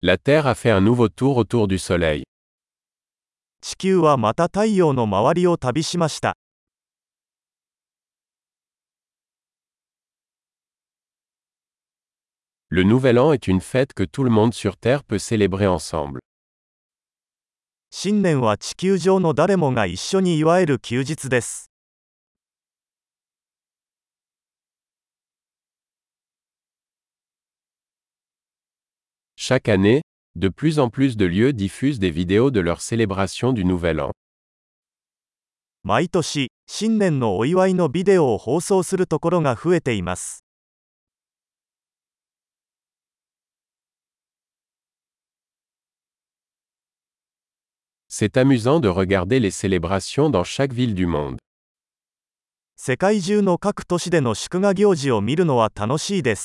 La Terre a fait un nouveau tour autour du Soleil. 地球はまた太陽の周りを旅しました。 Le Nouvel An est une fête que tout le monde sur Terre peut célébrer ensemble. 新年は地球上の誰もが一緒に祝える休日です。 Chaque année, de plus en plus de lieux diffusent des vidéos de leur célébration du Nouvel An. 毎年、新年のお祝いのビデオを放送するところが増えています。 C'est amusant de regarder les célébrations dans chaque ville du monde. 世界中の各都市での祝賀行事を見るのは楽しいです。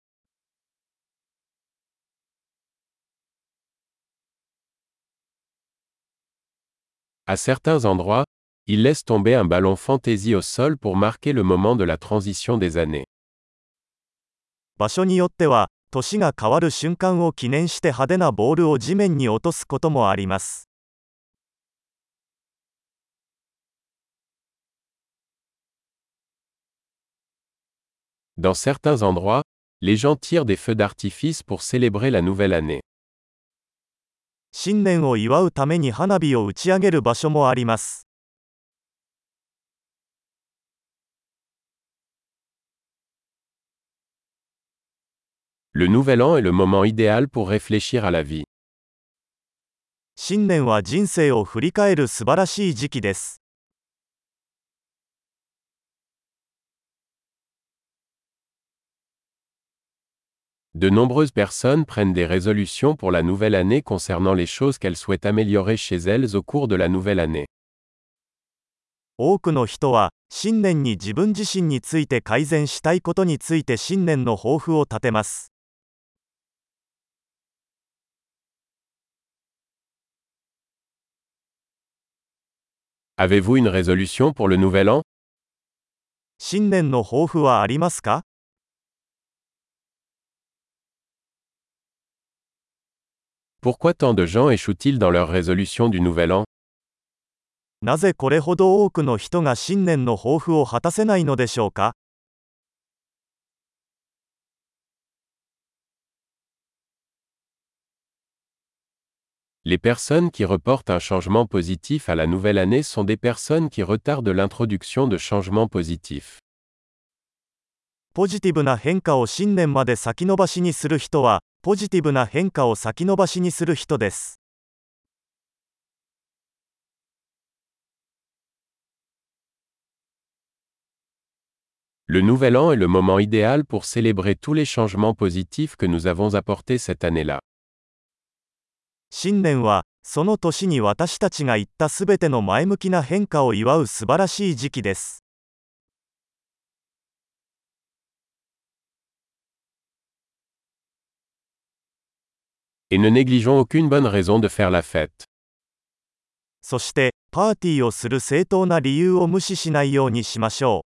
À certains endroits, ils laissent tomber un ballon fantaisie au sol pour marquer le moment de la transition des années. 場所によっては、年が変わる瞬間を記念して派手なボールを地面に落とすこともあります。 Dans certains endroits, les gens tirent des feux d'artifice pour célébrer la nouvelle année. 新年を祝うために花火を打ち上げる場所もあります。 Le Nouvel An est le moment idéal pour réfléchir à la vie. 新年は人生を振り返る素晴らしい時期です。 De nombreuses personnes prennent des résolutions pour la nouvelle année concernant les choses qu'elles souhaitent améliorer chez elles au cours de la nouvelle année. 多くの人は、新年に自分自身について改善したいことについて新年の抱負を立てます。 Avez-vous une résolution pour le Nouvel An? 新年の抱負はありますか？ Pourquoi tant de gens échouent-ils dans leurs résolutions du Nouvel An? なぜこれほど多くの人が新年の抱負を果たせないのでしょうか？ Les personnes qui reportent un changement positif à la nouvelle année sont des personnes qui retardent l'introduction de changements positifs. ポジティブな変化を新年まで先延ばしにする人は、ポジティブな変化を先延ばしにする人です。 Le Nouvel An est le moment idéal pour célébrer tous les changements positifs que nous avons apportés cette année-là. 新年は、その年に私たちが言ったすべての前向きな変化を祝う素晴らしい時期です。 Et ne négligeons aucune bonne raison de faire la fête. そして、パーティーをする正当な理由を無視しないようにしましょう。